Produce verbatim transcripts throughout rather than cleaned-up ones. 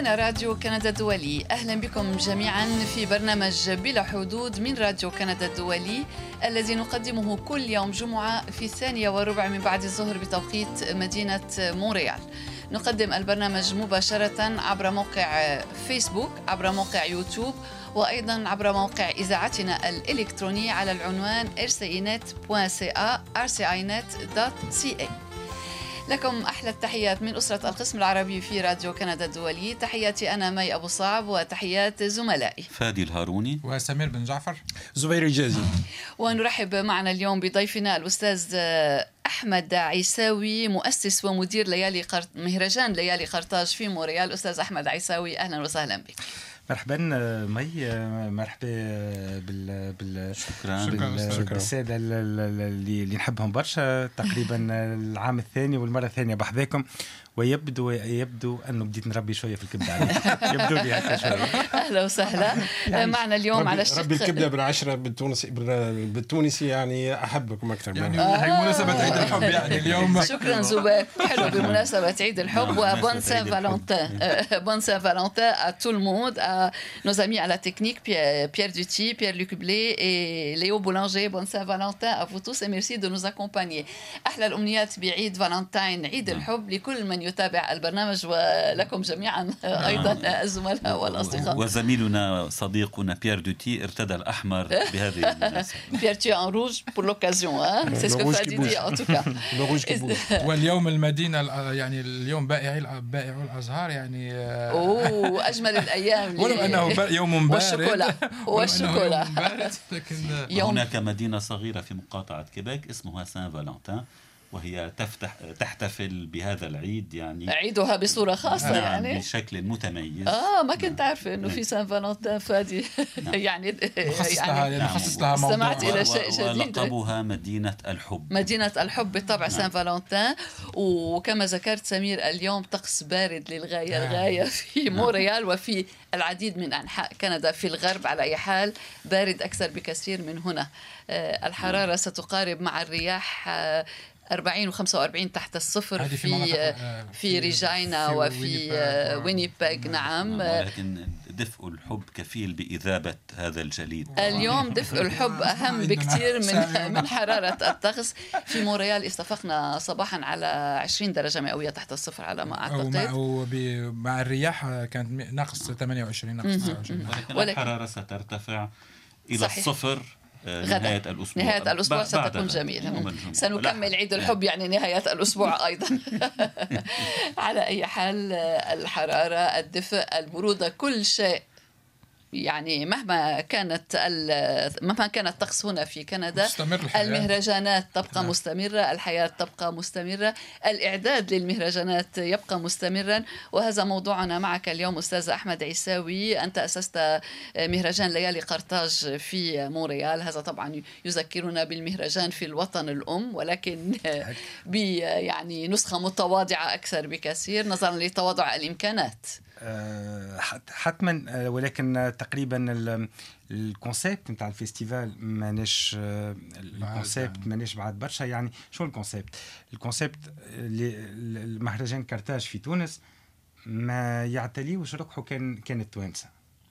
هنا راديو كندا الدولي. أهلا بكم جميعا في برنامج بلا حدود من راديو كندا الدولي الذي نقدمه كل يوم جمعة في الثانية وربع من بعد الظهر بتوقيت مدينة مونريال. نقدم البرنامج مباشرة عبر موقع فيسبوك، عبر موقع يوتيوب، وأيضا عبر موقع إذاعتنا الإلكتروني على العنوان ار سي اي نت دوت سي إيه ار سي اي نت دوت سي إيه. لكم أحلى التحيات من أسرة القسم العربي في راديو كندا الدولي. تحياتي أنا مي أبو صعب، وتحيات زملائي فادي الهاروني وسمير بن جعفر زبير الجازي. ونرحب معنا اليوم بضيفنا الأستاذ أحمد عيساوي، مؤسس ومدير ليالي قرط... مهرجان ليالي قرطاج في مونريال. أستاذ أحمد عيساوي، أهلا وسهلا بك. مرحبا مي، مرحبا بال بال شكرا بال... بالساده اللي اللي نحبهم برشا. تقريبا العام الثاني والمره الثانيه بحذاكم، ويبدو يبدو انه بديت نربي شويه في الكبده عليك. يبدو لي هكا شويه. اهلا وسهلا. يعني معنا اليوم ربي على الشق ربي الكبده بالعشره بالتونسي بالتونسي يعني احبكم اكثر يعني مني. هي مناسبة عيد الحب يعني اليوم. شكرا زبير، حلو بمناسبة عيد الحب وبون سان فالنتين. بون سان فالنتين à tout le monde, à nos amis à la technique, Pierre Duty, Pierre Luc Blé et Léo Boulanger. Bon Saint-Valentin à vous tous et merci de nous accompagner. أحلى الأمنيات بعيد فالنتين، عيد الحب لكل من يتابع البرنامج ولكم جميعا أيضا الزملاء والأصدقاء. وزميلنا صديقنا بيير دوتي ارتدى الأحمر بهذه المناسبة. Pierre, tu es en rouge pour l'occasion, hein? C'est ce que Fadi dit en tout cas. واليوم المدينة يعني اليوم بائعي بائعو الأزهار يعني أوه أجمل الأيام. ولو أنه يوم بارد والشوكولا والشوكولا. لكن هناك مدينة صغيرة في مقاطعة كيبيك اسمها سان فالنتين، وهي تفتح تحتفل بهذا العيد يعني عيدها بصورة خاصة. نعم يعني بشكل متميز. آه ما كنت عارفة إنه في سان فالنتين فادي. يعني مخصص لها يعني مخصص لها موضوع. استمعت إلى شيء جديد. ولقبوها مدينة الحب. مدينة الحب بالطبع. سان فالنتين. وكما ذكرت سمير، اليوم طقس بارد للغاية الغاية في مونريال وفي العديد من أنحاء كندا. في الغرب على أي حال بارد أكثر بكثير من هنا. الحرارة ستقارب مع الرياح أربعين وخمسة وأربعين تحت الصفر في في, في ريجينا وفي وينيبيغ. نعم، ولكن دفء الحب كفيل بإذابة هذا الجليد. اليوم دفء الحب أهم بكثير من من حرارة الطقس. في مونريال استفقنا صباحا على عشرين درجة مئوية تحت الصفر على ما أعتقد، ومع الرياح كانت ناقص ثمانية وعشرين ناقص تسعة وعشرين. ولكن الحرارة سترتفع إلى صحيح. الصفر نهاية الأسبوع. نهاية الأسبوع ستكون جميلة. سنكمل عيد الحب يعني نهاية الأسبوع أيضا. على أي حال الحرارة، الدفء، البرودة، كل شيء يعني مهما كانت مهما كان الطقس هنا في كندا، المهرجانات تبقى مستمرة، الحياة تبقى مستمرة، الإعداد للمهرجانات يبقى مستمرا. وهذا موضوعنا معك اليوم أستاذ أحمد عيساوي. أنت أسست مهرجان ليالي قرطاج في مونريال. هذا طبعا يذكرنا بالمهرجان في الوطن الأم، ولكن ب يعني نسخة متواضعة أكثر بكثير نظرا لتواضع الإمكانات. حتما، ولكن تقريبا الكونسيبت نتاع الفيستيفال مانيش الكونسيبت مانيش بعد برشا. يعني شو الكونسيبت؟ الكونسيبت المهرجان قرطاج في تونس ما يعتليوش ركحه كان كان التوانسه.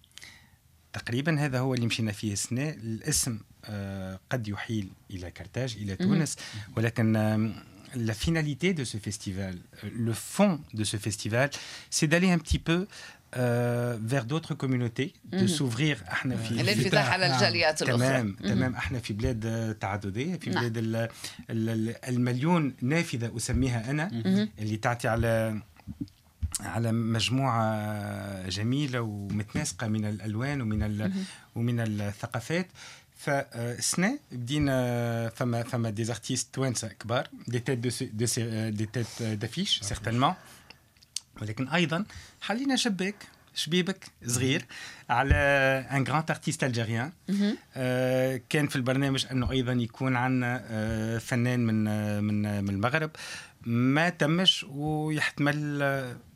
تقريبا هذا هو اللي مشينا فيه السنة. الاسم قد يحيل إلى قرطاج إلى تونس، ولكن la finalité de ce festival, le fond de ce festival, c'est d'aller un petit peu euh, vers d'autres communautés, de s'ouvrir. احنا في الانفتاح على الجاليات الأخرى. تمام تمام. احنا في بلاد تعددية، في بلاد ال ال المليون نافذة أسميها أنا، اللي تعطي على على مجموعة جميلة ومتناسقة من الألوان ومن ومن الثقافات. فالسنة بدينا فما فما دي ارتيست توانسة كبار، دي تيت دو دي دي تيت دافيش سيغتانمون، ولكن أيضا حلينا شباك شبيبك صغير على ان جراند ارتيست الجيريان. آه كان في البرنامج انه ايضا يكون عندنا آه فنان من من من المغرب، ما تمش ويحتمل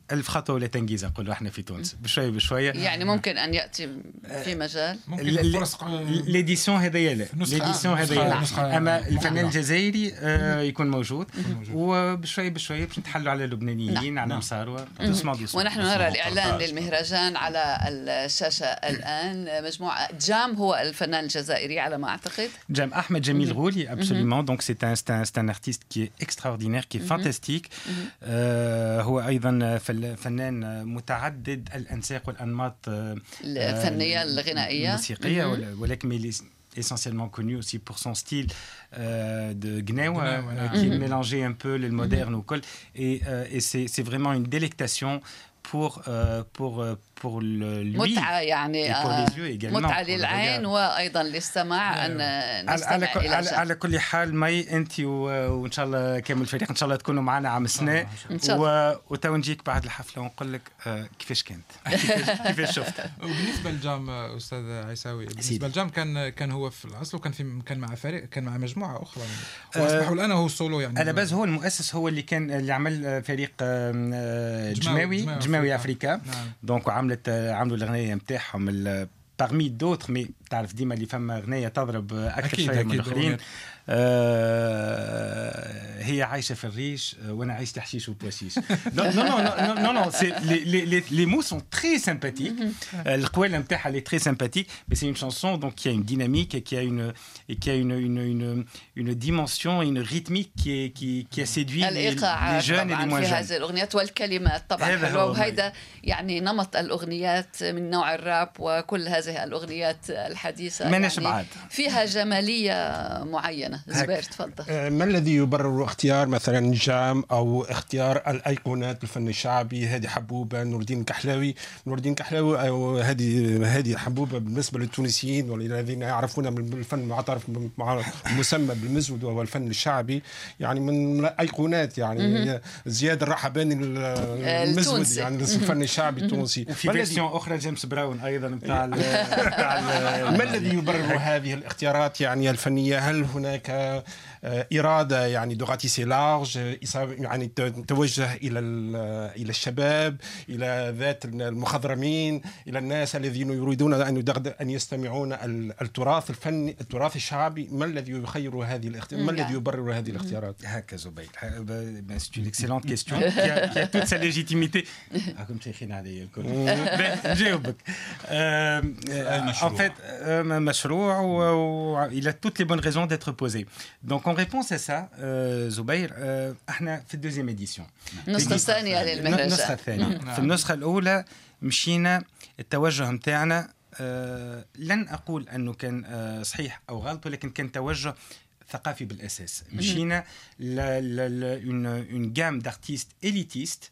ألف خطوة ولا تنجيز نقولوا احنا في تونس بشوية بشوية. يعني ممكن أن يأتي في مجال ليديسيون هذايا لا ليديسيون هذايا، أما الفنان الجزائري يكون موجود وبشوية بشوية باش نتحلوا على اللبنانيين على مصاروة. ونحن نرى الإعلان للمهرجان على الشاشة الآن. مجموعة جام هو الفنان الجزائري على ما أعتقد. جام أحمد جميل غولي absolument. donc c'est un c'est un artiste qui est extraordinaire qui est fantastique. هو أيضا فنان متعدد الأنساق والأنماط الفنية الغنائية الموسيقية، ولكن il est essentiellement connu aussi pour son style euh, de gnawa euh, qui est mélangé un peu le moderne au col et, euh, et c'est, c'est vraiment une délectation pour euh, pour pour le lui متعة يعني pour les yeux également متعة للعين وأيضا للسماع أن نستمع على, إلى على, على كل حال مي أنت وإن شاء الله كامل الفريق إن شاء الله تكونوا معنا عام السنة وتو نجيك بعد الحفلة ونقول لك آه كيفاش كانت كيفاش شفت. وبالنسبة للجام أستاذ عيساوي، بالنسبة للجام كان كان هو في الأصل وكان في كان مع فريق كان مع مجموعة أخرى وأصبح الآن هو سولو يعني. على باز هو المؤسس هو اللي كان اللي عمل فريق جماوي جماوي أفريقيا دونك عملت عملوا الأغنية متاعهم parmi d'autres mais تعرف ديما اللي فما أغنية تضرب أكثر شوية من الآخرين. آه هي عايشة في الريش وانا عايش تحشيش وبواشيش. non non non non non c'est les les les mots sont très sympathiques. القوالة نتاعها elle est très sympathique mais c'est une chanson donc qui a une dynamique et qui a une et qui a une une une une dimension une rythmique qui est qui qui a séduit les, les jeunes et les moins jeunes. في هذه الأغنيات والكلمات طبعا حلوة وهذا يعني نمط الأغنيات من نوع الراب وكل هذه الأغنيات الحديثة يعني فيها جمالية معينة. زبير تفضل. ما الذي يبرر اختيار مثلا جام او اختيار الايقونات الفن الشعبي؟ هذه حبوبه نور الدين كحلاوي نور الدين كحلاوي او هذه هذه حبوبه بالنسبه للتونسيين والذين يعرفون بالفن المعترف مع مسمى بالمزود وهو الفن الشعبي يعني من الايقونات يعني زياد الرحباني المزود يعني الفن الشعبي التونسي. وفي فيرسيون اخرى جيمس براون ايضا نتاع ما الذي يبرر هذه الاختيارات يعني الفنيه؟ هل هناك إرادة يعني دو راتيسي لارج يعني توجه إلى إلى الشباب إلى ذات المخضرمين إلى الناس الذين يريدون أن أن يستمعون التراث الفني التراث الشعبي؟ ما الذي يخير هذه الاختيارات؟ ما الذي يبرر هذه الاختيارات؟ هكا زبيد c'est une excellente question qui a, qui a toute sa légitimité. راكم شيخين عليا الكل. نجاوبك. En fait مشروع و il a toutes les bonnes raisons d'être posé. Donc en réponse à ça euh, زبير euh, احنا في الدوزيام اديسيون النسخة الثانية للمهرجان. النسخة الثانية في النسخة الأولى مشينا التوجه متاعنا آه لن أقول أنه كان آه صحيح أو غلط ولكن كان توجه ثقافي بالأساس. مشينا ل ل une une gamme d'artistes élitistes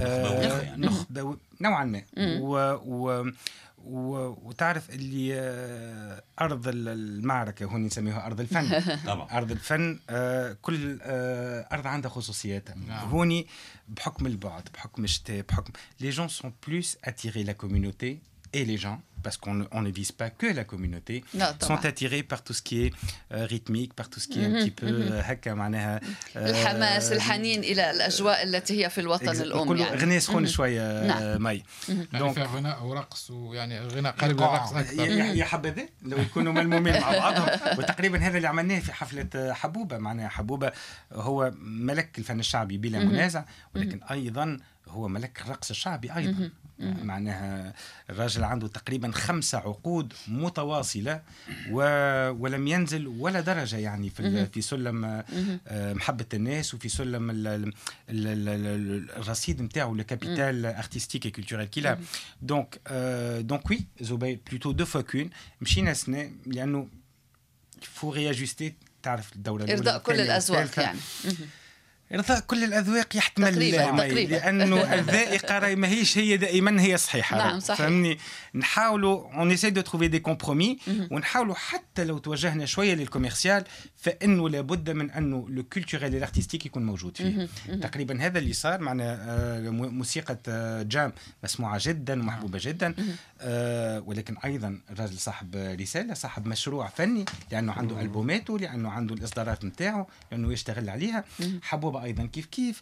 نخبة نوعا ما و, و وتعرف اللي أرض المعركة هون نسميها أرض الفن. أرض الفن كل أرض عندها خصوصياتها. هوني بحكم البعد بحكم الشتاء بحكم les gens sont plus attirés la communauté et les gens parce qu'on ne, on ne vise pas que la communauté non, sont attirés par tout ce qui est euh, rythmique par tout ce qui est un petit peu هكا معناها الحماس الحنين إلى الأجواء التي هي في الوطن الأم يعني غناء سخون شوية مي يعني فيها غناء ورقص ويعني غناء قريب للرقص أكثر. يا حبذا لو يكونوا ملمومين مع بعضهم وتقريبا هذا اللي عملناه في حفلة حبوبة. معناها حبوبة هو ملك الفن الشعبي بلا منازع ولكن أيضا هو ملك الرقص الشعبي أيضا. معناها الراجل عنده تقريبا خمسة عقود متواصلة و... ولم ينزل ولا درجة يعني في, في سلم محبة الناس وفي سلم ال... ال... ال... الرصيد متاعه الكابيتال ارتستيك et culturel qu'il a. donc euh, donc oui زبير plutôt deux fois qu'une مشينا سنة لأنه faut réajuster تعرف الدورة الأولى إرضاء كل الأذواق يعني. إرضاء كل الأذواق يحتمل تقريبا تقريبا لأنه الذائقة ما هيش هي دائما هي صحيحة. نعم صحيح. فهمني نحاولوا on essaie de trouver des compromis ونحاولوا حتى لو توجهنا شوية للكوميرسيال فإنه لابد من أنه لو كولتوريل والارتستيك يكون موجود فيه. تقريبا هذا اللي صار معنا. موسيقى جام مسموعة جدا ومحبوبة جدا ولكن أيضا الراجل صاحب رسالة صاحب مشروع فني لأنه عنده ألبوماته لأنه عنده الإصدارات متاعه لأنه يشتغل عليها. حبوبة النوبة أيضا كيف كيف.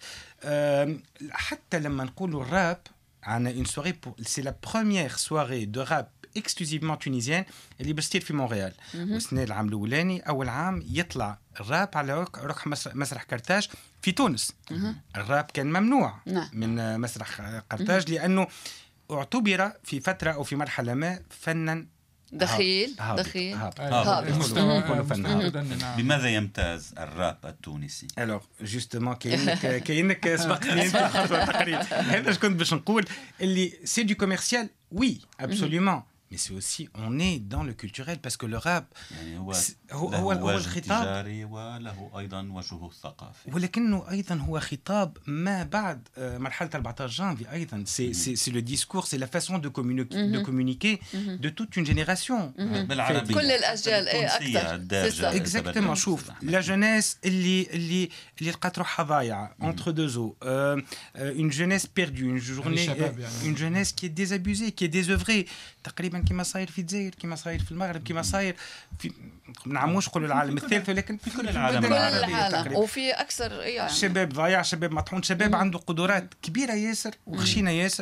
حتى لما نقولوا الراب عنا une soirée pour c'est la première soirée de rap exclusivement tunisienne اللي بتصير في مونريال. والسنة العام الأولاني أول عام يطلع الراب على ركح مسرح قرطاج في تونس. الراب كان ممنوع من مسرح قرطاج لأنه اعتبر في فترة أو في مرحلة ما فنا دخيل هابط. دخيل هابط. هابط. بماذا يمتاز الراب التونسي؟ الوغ جوستومون كاينك كاينك سبقتني انت خطوه تقريبا. هذا اش كنت باش نقول اللي سي دو كوميرسيال وي ابسوليومون mais c'est aussi on est dans le culturel parce que le rap يعني هو هو له هو, هو وجه الخطاب تجاري وله ايضا وجهه الثقافي ولكنه ايضا هو خطاب ما بعد مرحله أربعة عشر جانفي ايضا سي سي سي لو ديسكور سي لا فاسون دو كومونيكي دو كومونيكي دو توت اون جينيراسيون بالعربيه كل الاجيال اي اكثر اكزاكتومون. شوف لا جونيس اللي اللي اللي لقات روحها ضايعه انتر دو زو اون جونيس بيردو اون جورني اون جونيس كي ديزابوزي كي ديزوفري تقريبا كما صاير في الجزائر كما صاير في المغرب كما صاير في ما نعموش نقولوا العالم الثالث ولكن في كل العالم كل العالم وفي اكثر يعني شباب ضايع شباب مطحون شباب عنده قدرات كبيره ياسر وخشينه ياسر.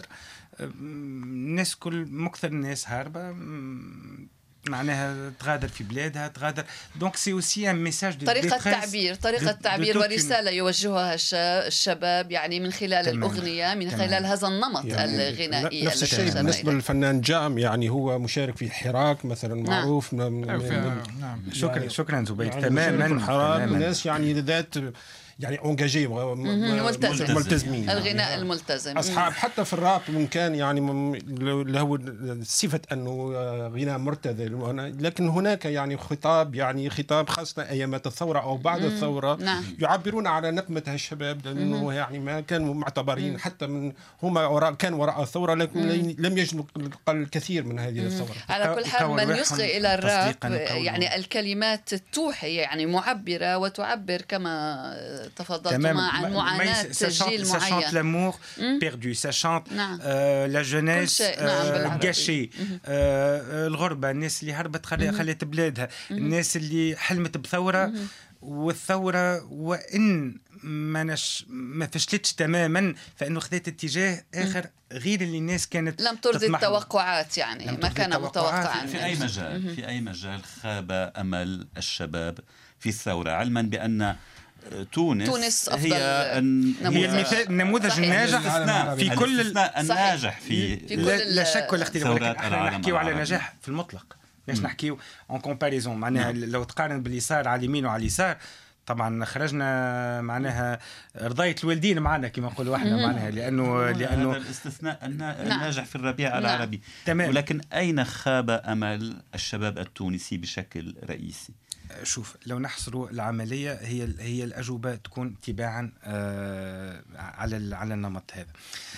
الناس كل مكثر الناس هاربه معناها تغادر في بلادها تغادر دونك سي اوسي ان ميساج دو طريقه تعبير طريقه تعبير ورساله يوجهها الشباب يعني من خلال تمام. الاغنيه من خلال تمام. هذا النمط يعني الغنائي. نفس الشيء بالنسبه للفنان جام يعني هو مشارك في حراك مثلا معروف نعم. نعم. شكرا يعني شكرا زبيد يعني تماما حراك الناس يعني ذات يعني اونجاجي ملتزم. ملتزمين الغناء يعني الملتزم اصحاب حتى في الراب من كان يعني له صفه انه غناء مرتذل لكن هناك يعني خطاب يعني خطاب خاصه ايامات الثوره او بعد الثوره نعم. يعبرون على نقمه هالشباب لانه يعني ما كانوا معتبرين حتى من هم وراء كان وراء الثوره لكن لم يجدوا الكثير من هذه الثوره. على كل حال من يصغي الى الراب يعني الكلمات توحي يعني معبره وتعبر كما تفضلتما عن معاناة جيل معين. Ça chante l'amour perdu, ça chante la jeunesse gâchée, الغربة، الناس اللي هربت خلت بلادها، الناس اللي حلمت بثورة والثورة وإن ما نش ما فشلتش تماما فإنه خذت اتجاه آخر غير اللي الناس كانت لم ترضي التوقعات يعني ما كان متوقعا. في أي مجال في أي مجال خاب أمل الشباب في الثورة علما بأن تونس, تونس هي هي المثال النموذج الناجح في كل الناجح في, في كل لا شك ولا اختلاف ولكن احنا نحكيو على نجاح في المطلق باش نحكيو اون كومباريزون معناها لو تقارن باليسار على اليمين وعلى اليسار طبعا خرجنا معناها رضاية الوالدين معنا كما نقولوا احنا معناها لانه لانه هذا الاستثناء الناجح في الربيع العربي تمام. ولكن اين خاب امل الشباب التونسي بشكل رئيسي؟ شوف لو نحصروا العملية هي هي الأجوبة تكون تباعا آه على على النمط هذا.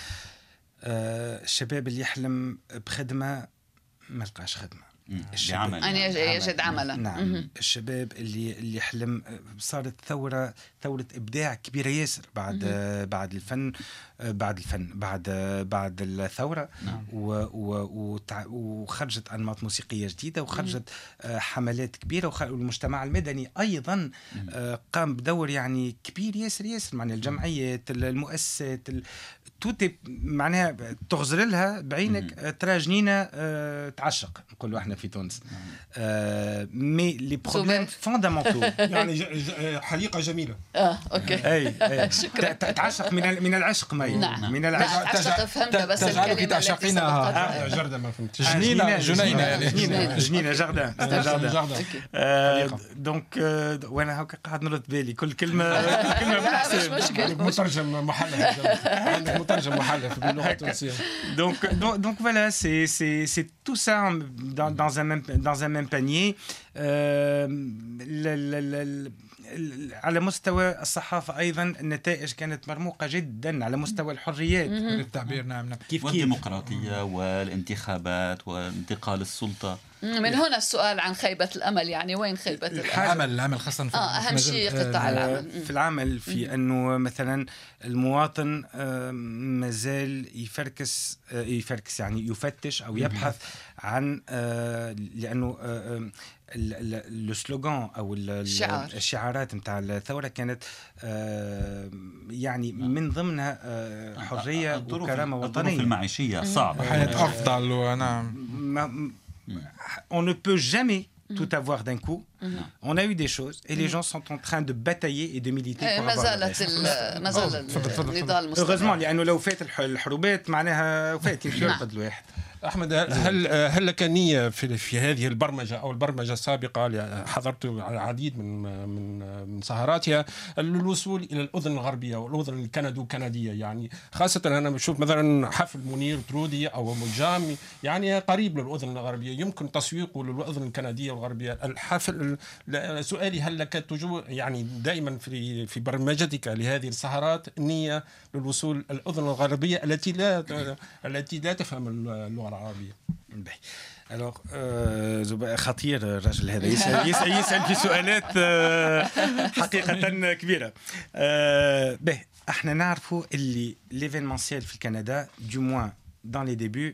آه الشباب اللي يحلم بخدمة ما لقاش خدمة. بعمل أن يجد عملا. نعم مم. الشباب اللي اللي يحلم صارت ثورة ثورة إبداع كبيرة ياسر بعد مم. بعد الفن بعد الفن بعد بعد الثورة نعم. و وخرجت أنماط موسيقية جديدة وخرجت مم. حملات كبيرة والمجتمع المدني أيضا مم. قام بدور يعني كبير ياسر ياسر معناها الجمعيات المؤسسات توتي معناها تغزر لها بعينك ترى جنينة أه تعشق نقولوا احنا في تونس أه مي لي بروبليم فوندامونتو يعني حديقة جميلة اه اوكي اي, أي. شكرا تعشق من من العشق مي نعم. من العشق تعشق فهمت بس الكلمة تعشقينها جردة ما فهمت جنينة جنينة يعني جنينة جنينة جردة جردة دونك وانا هكا قاعد نرد بالي كل كلمة كل كلمة بحسب مترجم محلها مترجم محلها باللغة التونسية. Donc donc voilà c'est c'est c'est tout ça dans dans un même dans un même panier. على مستوى الصحافة أيضا النتائج كانت مرموقة جدا على مستوى الحريات التعبير. نعم نعم كيف والديمقراطية والانتخابات وانتقال السلطة من هنا السؤال عن خيبة الأمل، يعني وين خيبة الأمل؟ العمل العمل خاصة في آه أهم شيء قطاع العمل. في العمل في أنه مثلا المواطن مازال يفركس يفركس يعني يفتش أو يبحث عن لأنه السلوغان أو الشعار. الشعارات متاع الثورة كانت يعني من ضمنها حرية وكرامة وطنية. الظروف المعيشية صعبة، حياة أفضل. ونعم on ne peut jamais tout avoir d'un coup. On a eu des choses et les gens sont en train de batailler et de militer pour ما avoir زالت ما زال النضال مستمر. heureusement لأنه لو فات الحروبات معناها فات ينقذ الواحد. أحمد، هل هل لك نية في في هذه البرمجة أو البرمجة السابقة؟ حضرت العديد من من من سهراتها للوصول إلى الأذن الغربية والأذن الكندو كندية، يعني خاصة أنا بشوف مثلا حفل منير ترودي أو مجام يعني قريب للأذن الغربية، يمكن تسويقه للأذن الكندية والغربية. الحفل سؤالي، هل لك تجو يعني دائما في في برمجتك لهذه السهرات نية للوصول الأذن الغربية التي لا التي لا تفهم اللغة العربية؟ alors euh, خطير الرجل هذا يسأل, يسأل, يسأل في سؤالات حقيقة كبيرة. به احنا نعرفوا اللي l'événementiel في كندا du moins dans les débuts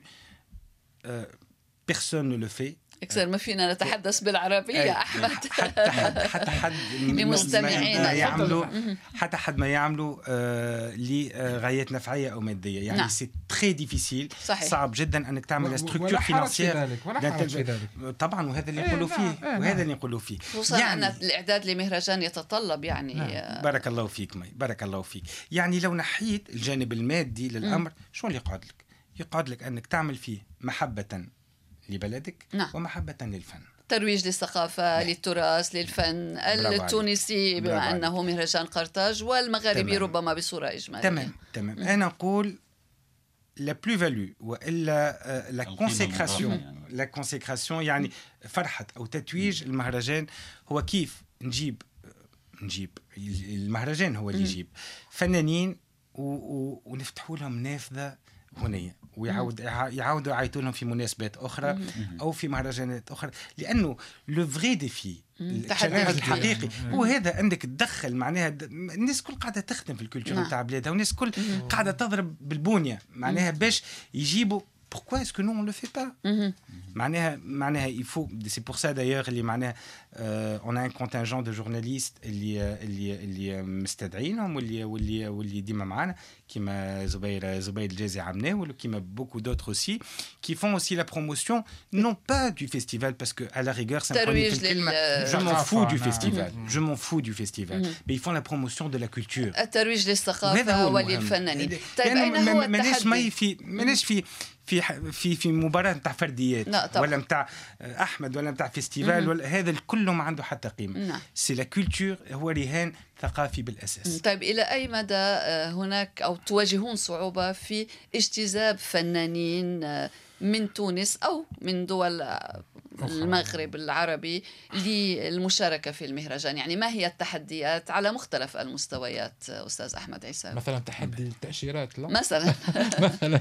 personne ne le fait. اكثر ما فينا نتحدث بالعربية يا أحمد. حتى حد حتى حد لمستمعينا يعملوا حتى حد ما يعملوا آه لغايات نفعية أو مادية، يعني سي تري ديفيسيل، صعب جدا أنك تعمل ستركتور فينانسيير. طبعا وهذا اللي يقولوا فيه وهذا اللي يقولوا فيه خصوصا يعني أن الإعداد لمهرجان يتطلب يعني نعم. بارك الله فيك مي، بارك الله فيك. يعني لو نحيت الجانب المادي للأمر شو اللي يقعد لك؟ يقعد لك أنك تعمل فيه محبة لبلدك نعم. ومحبة للفن، ترويج للثقافة نعم. للتراث للفن التونسي بما أنه مهرجان قرطاج والمغاربي تمام. ربما بصورة إجمالية. تمام تمام. أنا أقول لا بلو فالو وإلا لا كونسيكراسيون لا كونسيكراسيون يعني فرحة أو تتويج المهرجان هو كيف نجيب نجيب المهرجان هو اللي يجيب فنانين ونفتحوا لهم نافذة هنية ويعاود يعاودوا يعيطوا لهم في مناسبات أخرى أو في مهرجانات أخرى، لأنه لو فري ديفي التحدي الحقيقي هو هذا أنك تدخل معناها الناس كل قاعدة تخدم في الكولتور نتاع بلادها والناس كل قاعدة تضرب بالبنية معناها باش يجيبوا. Pourquoi est-ce que nous on le fait pas? معناها معناها il faut c'est pour ça d'ailleurs اللي معناها on a un contingent de journalistes اللي اللي اللي مستدعينهم واللي واللي واللي ديما معانا كيما زبير زبير الجازي عمناه ولا كيما beaucoup d'autres aussi qui font aussi la promotion non pas du festival parce que à la rigueur c'est je m'en fous du festival je m'en fous du festival mais ils font la promotion de la culture الترويج للثقافة وللفنانين. طيب أين هو التحدي؟ ما في ماناش في في في في مباراة نتاع فرديات ولا نتاع أحمد ولا نتاع فيستيفال ولا هذا كله ما عنده حتى قيمة. سي لا كولتور هو رهان ثقافي بالأساس. طيب إلى أي مدى هناك أو تواجهون صعوبة في اجتذاب فنانين من تونس أو من دول المغرب العربي للمشاركة في المهرجان؟ يعني ما هي التحديات على مختلف المستويات أستاذ أحمد عيساوي؟ مثلا تحدي التأشيرات لا مثلا مثلا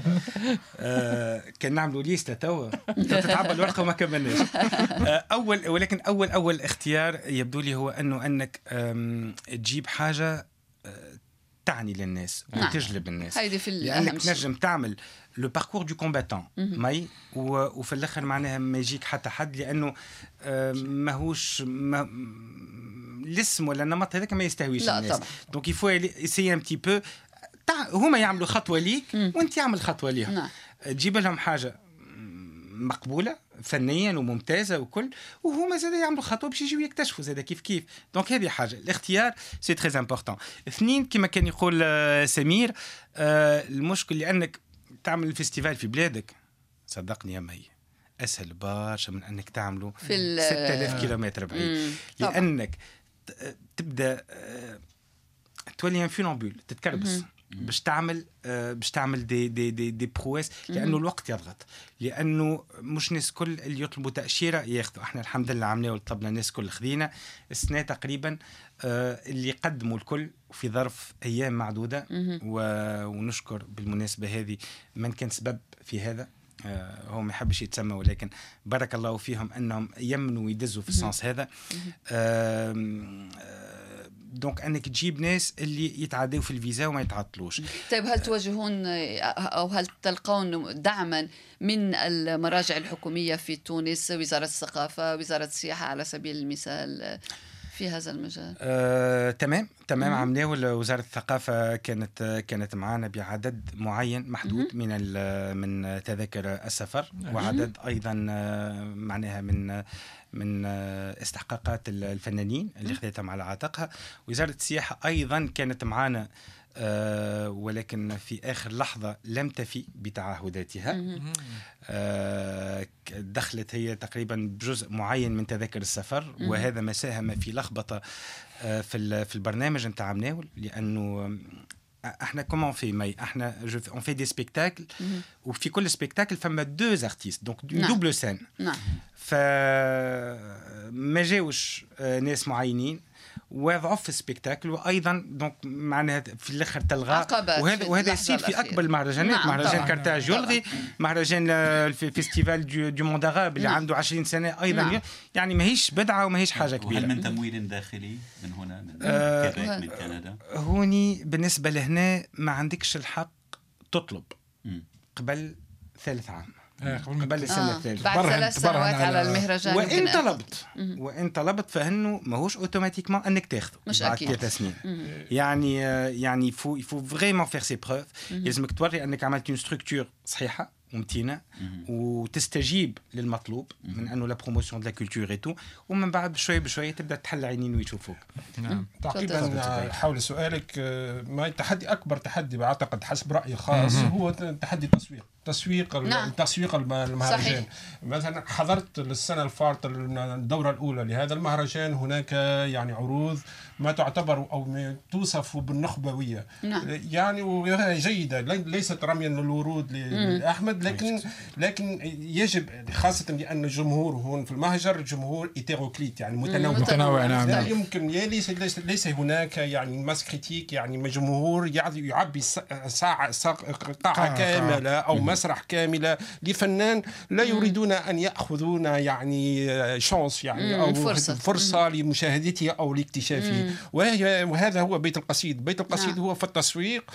آه كان نعملوا ليستة توا تتعبى الورقة وما كملناش. آه أول ولكن أول أول اختيار يبدو لي هو أنه أنك تجيب حاجة تعني للناس وتجلب الناس لأنك تنجم تعمل لو باركور دو كومباتون ماي وفي الاخر معناها ما يجيك حتى حد لانه ماهوش ما الاسم ولا النمط هذاك ما يستهويش الناس. دونك يفو اسيي ان بتي بو هما يعملوا خطوه ليك وانت يعمل خطوه ليهم تجيب لهم حاجه مقبوله فنيا وممتازه وكل وهما زاد يعملوا خطوه باش يجيو يكتشفوا زاد كيف كيف. دونك هذه حاجه الاختيار سي تري امبورطون. اثنين كما كان يقول سمير المشكل لانك تعمل الفيستيفال في بلادك صدقني يا مي أسهل برشا من أنك تعمله في ستة آلاف كيلومتر بعيد لأنك تبدأ تولي انفينامبول تتكربس باش تعمل باش تعمل دي دي دي, دي برويس لأنه الوقت يضغط لأنه مش ناس كل اللي يطلبوا تأشيرة ياخذوا. احنا الحمد لله عملنا وطلبنا الناس كل خذينا السنة تقريبا اللي قدموا الكل في ظرف أيام معدودة ونشكر بالمناسبة هذه من كان سبب في هذا هو ما يحبش يتسمى ولكن بارك الله فيهم انهم يمنوا ويدزوا في السنس هذا. دونك انك تجيب ناس اللي يتعدوا في الفيزا وما يتعطلوش. طيب هل تواجهون او هل تلقون دعما من المراجع الحكوميه في تونس، وزاره الثقافه، وزاره السياحه على سبيل المثال في هذا المجال؟ آه، تمام تمام عملناه. وزارة الثقافة كانت كانت معنا بعدد معين محدود من من تذاكر السفر، وعدد أيضا معناها من من استحقاقات الفنانين اللي خذتهم على عاتقها. وزارة السياحة أيضا كانت معنا، أه ولكن في آخر لحظة لم تفي بتعهداتها. أه دخلت هي تقريبا بجزء معين من تذاكر السفر، وهذا ما ساهم في لخبطة أه في في البرنامج نتاع مناول، لأنه احنا كومون في ماي احنا اون في دي سبيكتاكل، وفي كل سبيكتاكل فما دوز ارتيست دونك دوبل سين. نعم. فما جاوش ناس معينين وضعوا في السبيكتاكل، وايضا دونك معناها في الاخر تلغى. وهذا وهذا يصير في اكبر المهرجانات. نعم. مهرجان كارتاج يلغي، مهرجان الفيستيفال دو موند عرب اللي نعم. عنده عشرين سنه ايضا. نعم. يعني ماهيش بدعه وماهيش حاجه كبيره. وهل من تمويل داخلي من هنا من آه كيبيك من كندا؟ هوني بالنسبه لهنا ما عندكش الحق تطلب م. قبل ثالث عام، قبل السنة آه. الثالثة بعد ثلاث سنوات على المهرجان. وإن طلبت وإن طلبت فإنه ماهوش أوتوماتيكمان أنك تاخذه بعد ثلاث سنين. يعني يعني يفو يفو فريمون فير سي بروف. لازمك توري أنك عملت اون ستركتور صحيحة ومتينة وتستجيب للمطلوب من أنه لا بروموسيون دو لا كولتور اي تو، ومن بعد بشوي بشوي تبدأ تحل عينين ويشوفوك. نعم. تعقيبا حول سؤالك، ما تحدي أكبر تحدي بعتقد حسب رأيي خاص هو تحدي التسويق. تسويق نعم. تسويق المهرجان. مثلا حضرت السنة الفارطة الدورة الأولى لهذا المهرجان، هناك يعني عروض ما تعتبر أو توصف بالنخبوية. نعم. يعني وهي جيدة، ليست رميا للورود لأحمد، لكن لكن يجب خاصة لأن الجمهور هون في المهجر جمهور إيتيروكليت يعني متنوع. متنوع نعم. لا يمكن ليس ليس ليس هناك يعني ماس كريتيك، يعني جمهور يعبي ساعة قاعة كاملة أو مسرح كاملة لفنان لا يريدون أن يأخذون يعني شانس يعني أو فرصة, فرصة لمشاهدته أو لاكتشافه. وهذا هو بيت القصيد. بيت القصيد هو في التسويق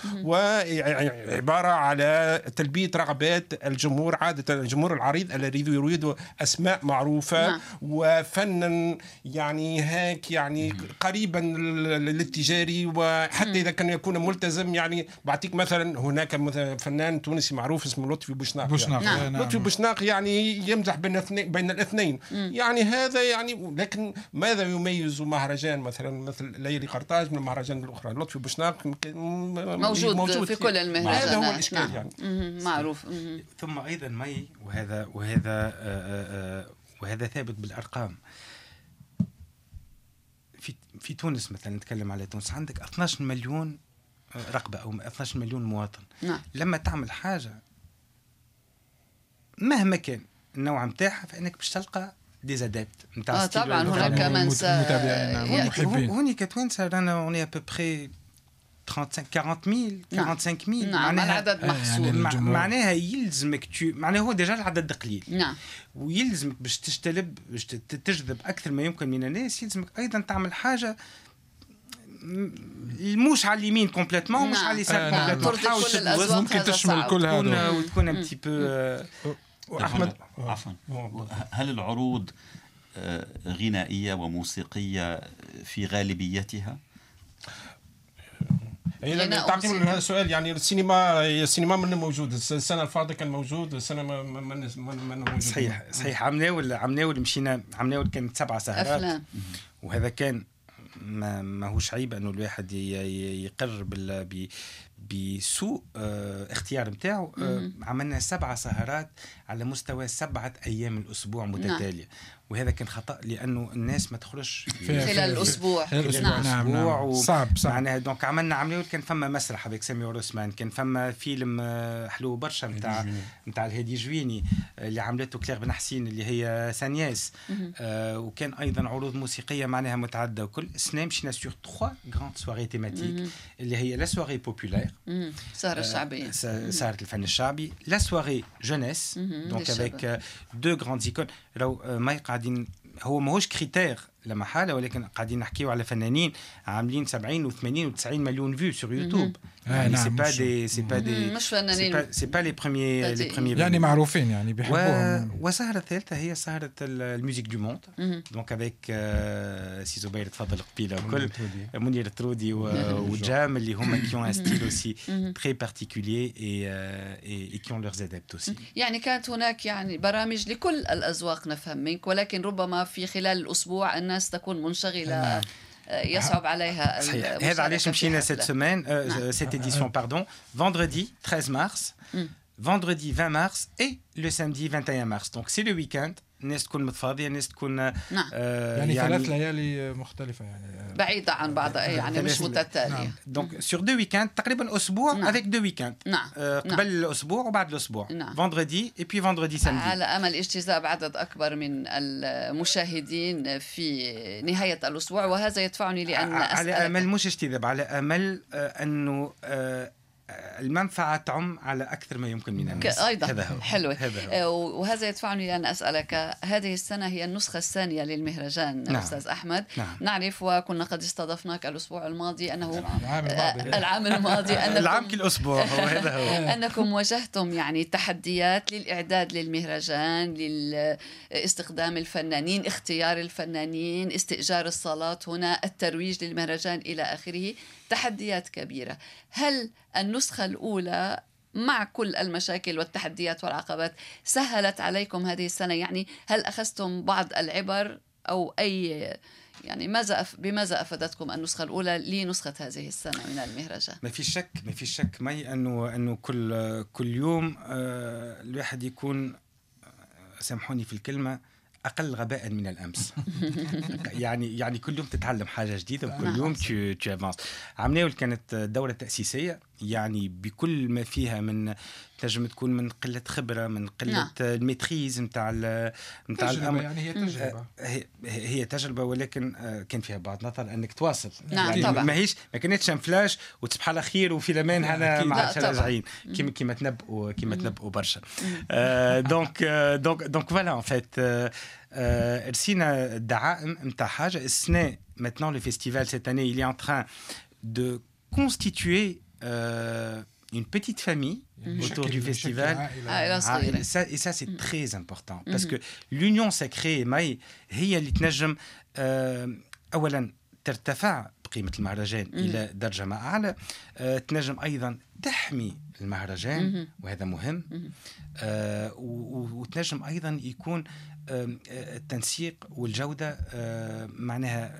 وعبارة على تلبية رغبات الجمهور، عادة الجمهور العريض الذي يريد أسماء معروفة وفنا يعني هيك يعني قريبا للتجاري، وحتى إذا كان يكون ملتزم. يعني بعطيك مثلا هناك فنان تونسي معروف اسمه لطفي بوشناق. بوشناق يعني. نعم. لطفي بوشناق يعني يمزح بين الاثنين بين الاثنين يعني هذا يعني. لكن ماذا يميز مهرجان مثلا مثل ليالي قرطاج من المهرجان الاخرى؟ لطفي بوشناق موجود, موجود في كل المهرجانات. هذا هو الاشكال. نعم. يعني معروف. ثم ايضا مي وهذا وهذا آآ آآ وهذا ثابت بالارقام. في في تونس مثلا نتكلم على تونس، عندك اثنا عشر مليون رقبة أو اثنا عشر مليون مواطن. نعم. لما تعمل حاجة مهما كان النوع متاعها فإنك باش تلقى ديزادابت نتاع آه طبعا هناك من متابعين. هوني كتوانسة رانا اوني ابوبري خمسين ميل أربعين ميل. نعم. معناها العدد محسوب. يعني معناها يلزمك تو معناها هو ديجا العدد قليل. نعم. ويلزمك باش تجتلب باش تجذب أكثر ما يمكن من الناس، يلزمك أيضا تعمل حاجة مش على اليمين كومبليتمون، مش على اليسار كومبليتمون. ممكن تشمل كل هذا وتكون ان بتي بو. احمد عفوا، هل العروض غنائيه وموسيقيه في غالبيتها؟ يعني تعقيب هذا السؤال، يعني السينما السينما من موجود السنه الفاضله كان موجود، السنه ما ما ما موجود. صحيح صحيح. عمناول عمناول مشينا عمناول كانت سبعة سهرات، وهذا كان ما ماهوش عيب انه الواحد يقر بال بسوء اه اختيار نتاعو. اه عملنا سبعة سهرات على مستوى سبعة ايام الاسبوع متتاليه. نعم. وهذا كان خطأ لأنه الناس ما تخرجش خلال الأسبوع. نعم نعم صعب صعب. معناها دونك عملنا عملية كان فما مسرح avec سامي عثمان، كان فما فيلم حلو برشا نتاع نتاع الهادي جويني اللي عملته كلير بن حسين اللي هي سانياس، آه وكان أيضا عروض موسيقية معناها متعددة، وكل سنة مشينا سور trois grandes soirées thématiques اللي هي لا سواري بوبولير سهرة الشعبية، سهرة الفن الشعبي، لا سواري جونيس دونك avec deux grandes icônes. لو ما قاعدين هو ماهوش كريتير لما حالة، ولكن قاعدين نحكيو على فنانين عاملين سبعين وثمانين وتسعين مليون فيو سور يوتيوب. يعني سي با دي سي با دي مش فنانين، سي با لي بروميير لي بروميير يعني معروفين يعني بيحبوهم. وسهرة الثالثة هي سهرة الميوزيك دو موند دونك افيك سي زبير تفضل قبيله وكل منير ترودي وجام اللي هما كي اون ستيل اوسي تري بارتيكولير اي اي كي اون لورز ادابت اوسي. يعني كانت هناك يعني برامج لكل الأذواق نفهم منك، ولكن ربما في خلال الأسبوع الناس تكون منشغلة يصعب عليها. صحيح. هذا علاش مشينا cette semaine euh, cette édition pardon vendredi treize mars, vendredi vingt mars et le samedi vingt et un mars. Donc c'est le week-end. الناس تكون متفاضية، الناس تكون نعم. آه يعني, يعني ثلاث ليالي مختلفة يعني بعيدة عن بعضها يعني مش متتالية. نعم. دونك سور دو ويكاند تقريبا أسبوع نعم. avec deux week-ends. نعم. آه قبل نعم. الأسبوع وبعد الأسبوع. نعم. vendredi et puis vendredi samedi. على أمل اجتذاب عدد أكبر من المشاهدين في نهاية الأسبوع، وهذا يدفعني لأن على أمل مش اجتذاب، على أمل آه أنه آه المنفعة تعم على أكثر ما يمكن من الناس. أيضا حلو. وهذا يدفعني لأن أسألك، هذه السنة هي النسخة الثانية للمهرجان. نعم. أستاذ أحمد. نعم. نعرف وكنا قد استضفناك الأسبوع الماضي أنه العام الماضي العام الماضي أنكم العام كل أسبوع هو هذا هو أنكم واجهتم يعني تحديات للإعداد للمهرجان، لاستخدام الفنانين، اختيار الفنانين، استئجار الصالات هنا، الترويج للمهرجان إلى آخره، تحديات كبيرة. هل النسخة الأولى مع كل المشاكل والتحديات والعقبات سهلت عليكم هذه السنة؟ يعني هل أخذتم بعض العبر أو أي يعني ماذا أف... بماذا أفادتكم النسخة الأولى لنسخة هذه السنة من المهرجان؟ ما في شك ما في شك مي أنه أنه كل كل يوم آه الواحد يكون سامحوني في الكلمة أقل غباء من الأمس. يعني يعني كل يوم تتعلم حاجة جديدة وكل يوم tu tu avances. عملنا كانت دورة تأسيسية يعني بكل ما فيها من تنجم تكون من قلة خبرة، من قلة نعم. الميتريز نتاع نتاع الأمر. يعني هي تجربة هي, هي تجربة، ولكن كان فيها بعض نظر أنك تواصل. نعم يعني طبعا. ما هيش ما كانتش فلاش وتصبح على خير وفي الأمان هنا مع راجعين كيما كيما تنبؤوا كيما تنبؤوا برشا. دونك دونك دونك فوالا ان فيت رسينا الدعائم نتاع حاجة السنة. Maintenant le festival cette année il est en train de constituer euh, une petite famille mmh. autour du festival. Ah, et, ça, et ça, c'est mmh. très important. Parce mmh. que l'union sacrée, Maï, هي اللي تنجم أولا ترتفع قيمة المهرجان mmh. إلى درجة ما أعلى، تنجم أيضا تحمي المهرجان mmh. وهذا مهم، آه وتنجم أيضا يكون التنسيق والجودة معناها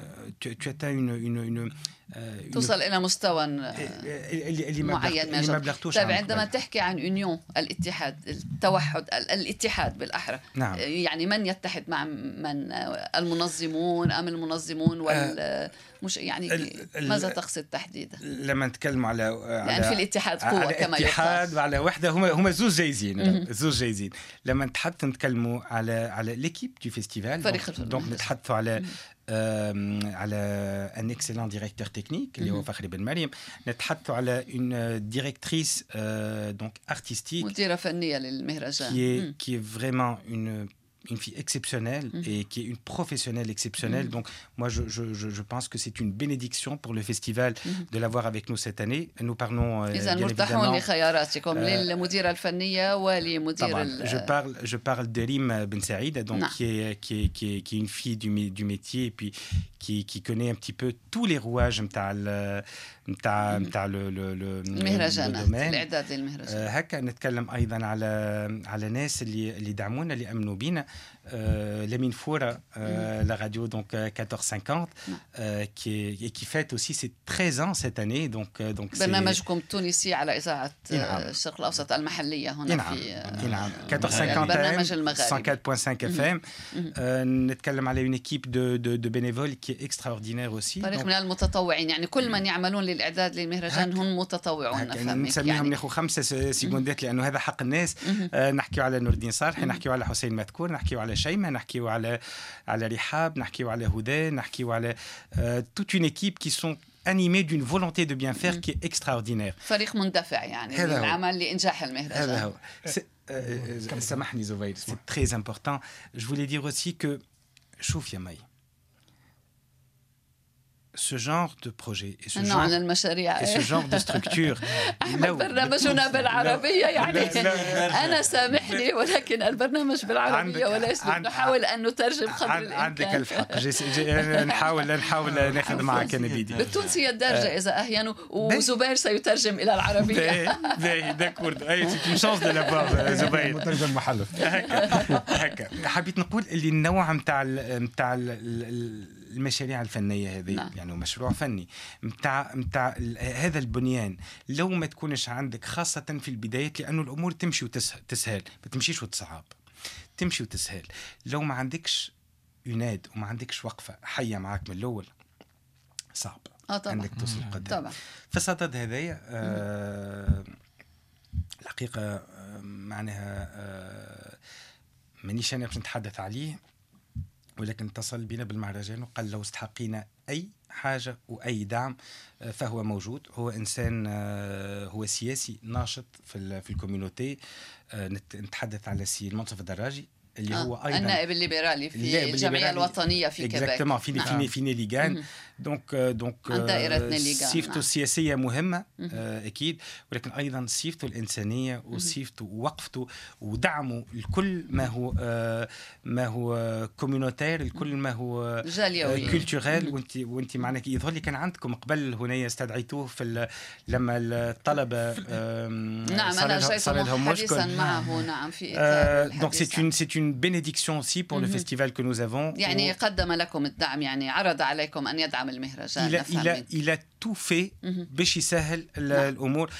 توصل إلى مستوى معين من الجودة. طيب عندما تحكي عن يونيون الاتحاد التوحد الاتحاد بالأحرى نعم. يعني من يتحد مع من؟ المنظمون أم المنظمون وال مش يعني ماذا تقصد تحديدا لما نتكلم على يعني في الاتحاد قوة على كما الاتحاد وعلى وحدة هما هما زوج جايزين زوج جايزين لما نتحدث نتكلموا على على ليكيب دو فيستيفال دونك نتحدثوا على على ان اكسلون ديريكتور تكنيك اللي هو فخري بن مريم، نتحدثوا على اون ديريكتريس دونك ارتستيك مديرة فنية للمهرجان qui est qui est vraiment une une fille exceptionnelle mmh. et qui est une professionnelle exceptionnelle. Mmh. Donc, moi, je, je, je pense que c'est une bénédiction pour le festival mmh. de l'avoir avec nous cette année. Nous parlons euh, bien évidemment... لخياراتكم للمديرة الفنية ولمدير ال... je parle je parle de Rim Ben Saïd, donc qui est qui est qui est qui est une fille du du métier et puis qui qui connaît un petit peu tous les rouages نتاع نتاع نتاع le le le المهرجانات الإعداد للمهرجان. هكا نتكلم أيضا على على ناس اللي اللي دعمونا اللي أمنوا بينا. euh, Lamine Foura, euh, la radio donc quatorze cinquante, euh, qui est, et qui fête aussi ses treize ans cette année. Donc donc برنامجكم التونسي على إذاعة الشرق الأوسط المحلية هنا نعم. في نعم quatorze cinquante cent quatre point cinq F M. نتكلم على une équipe de de de bénévoles qui est extraordinaire aussi. فريق من المتطوعين، يعني كل من يعملون للإعداد للمهرجان هم متطوعون. نسميهم يعني ناخذ خمسة سيكوندات لأنه هذا حق الناس. نحكيو على نور الدين صالح، نحكيو على حسين مذكور، نحكيو على شيماء، نحكيو على على رحاب، نحكيو على هدى، نحكيو على toute une équipe qui sont animés d'une volonté de bien faire qui est extraordinaire. فريق مندفع يعني للعمل لإنجاح المهرجان. هذا هو. سامحني زبير، c'est très important. Je voulais dire aussi que شوف يا مي، ce genre de projet et ce genre المشاريع et ce genre de structure. برنامجنا بالعربية يعني أنا سامحني ولكن البرنامج بالعربية وليس نحاول أن نترجم قدر الإمكان. عندك الحق، نحاول نحاول ناخذ معك أنا بيدي. بالتونسية الدارجة إذا أحيانا، وزبير سيترجم إلى العربية. باهي داكورد، أي سيت اون شانس دو لافوار زبير. مترجم محلف. هكا هكا حبيت نقول اللي النوع نتاع نتاع المشاريع الفنية هذه نعم. يعني مشروع فني متاع متاع هذا البنيان لو ما تكونش عندك خاصة في البدايات، لأنه الأمور تمشي وتسهل، ما تمشيش وتصعب، تمشي وتسهل. لو ما عندكش يناد وما عندكش وقفة حية معاك من الأول صعب آه عندك توصل قدام. طبعا فصدد هذايا آه الحقيقة آه معناها آه مانيش أنا باش نتحدث عليه، ولكن اتصل بنا بالمهرجان وقال لو استحقينا أي حاجة وأي دعم فهو موجود. هو إنسان هو سياسي ناشط في في الكوميونيتي. نتحدث على السي المنصف الدراجي اللي آه. هو أيضا النائب الليبرالي في الجمعية الوطنية في كيبيك. في نعم. في نيليغان. دونك دونك سيفته السياسية مهمة آه أكيد، ولكن أيضا سيفته الإنسانية وسيفته ووقفته ودعمه الكل ما هو آه ما هو كوميونيتير، الكل ما هو جاليوي كولتوريل. وانت وانت معناك يظهر لي كان عندكم قبل هنا استدعيتوه في لما الطلبة آه نعم أنا جيت حديثا معه نعم في دونك سي une c'est une bénédiction aussi pour le festival que nous avons. يعني قدم لكم الدعم، يعني عرض عليكم أن يدعم المهرجان. il a, il a, il a tout fait باش يسهل الأمور.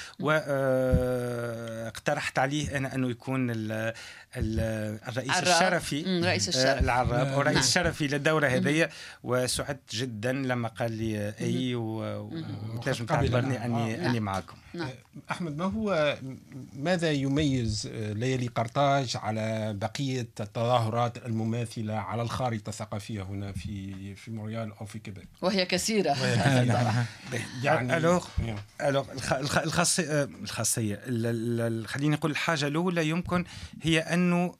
واقترحت عليه أنا أنه يكون ال الرئيس الشرفي رئيس الشرف العراب ورئيس الشرفي للدورة هذه. وسعدت جدا لما قال لي أي وتنجم تعتبرني أني أني معكم. أحمد، ما هو ماذا يميز ليالي قرطاج على بقية التظاهرات المماثلة على الخارطة الثقافية هنا في في مونريال أو في كيبيك؟ وهي كثيرة. يعني ألوغ ألوغ الخاصية الخاصية خليني نقول الحاجة الأولى يمكن هي أنه